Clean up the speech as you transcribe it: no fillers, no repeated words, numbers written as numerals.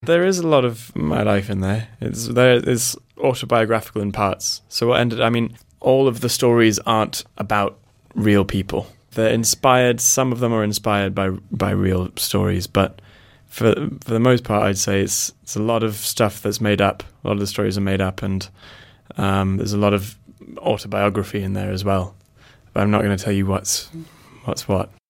There is a lot of my life in there. It's autobiographical in parts. So all of the stories aren't about real people. They're inspired. Some of them are inspired by real stories, but for the most part, I'd say it's a lot of stuff that's made up. A lot of the stories are made up, and there's a lot of autobiography in there as well. But I'm not going to tell you what's what.